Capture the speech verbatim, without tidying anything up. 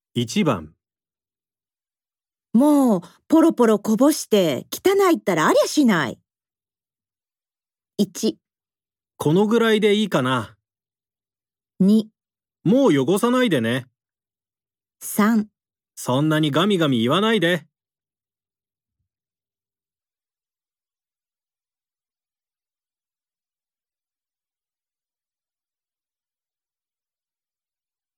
いちばん、 もう、ポロポロこぼして、汚いったらありゃしない。いち、 このぐらいでいいかな。 に、 もう汚さないでね。 さん。 そんなにガミガミ言わないで。